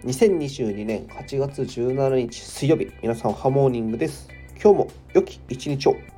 2022年8月17日水曜日、皆さんハモーニングです。今日も良き一日を。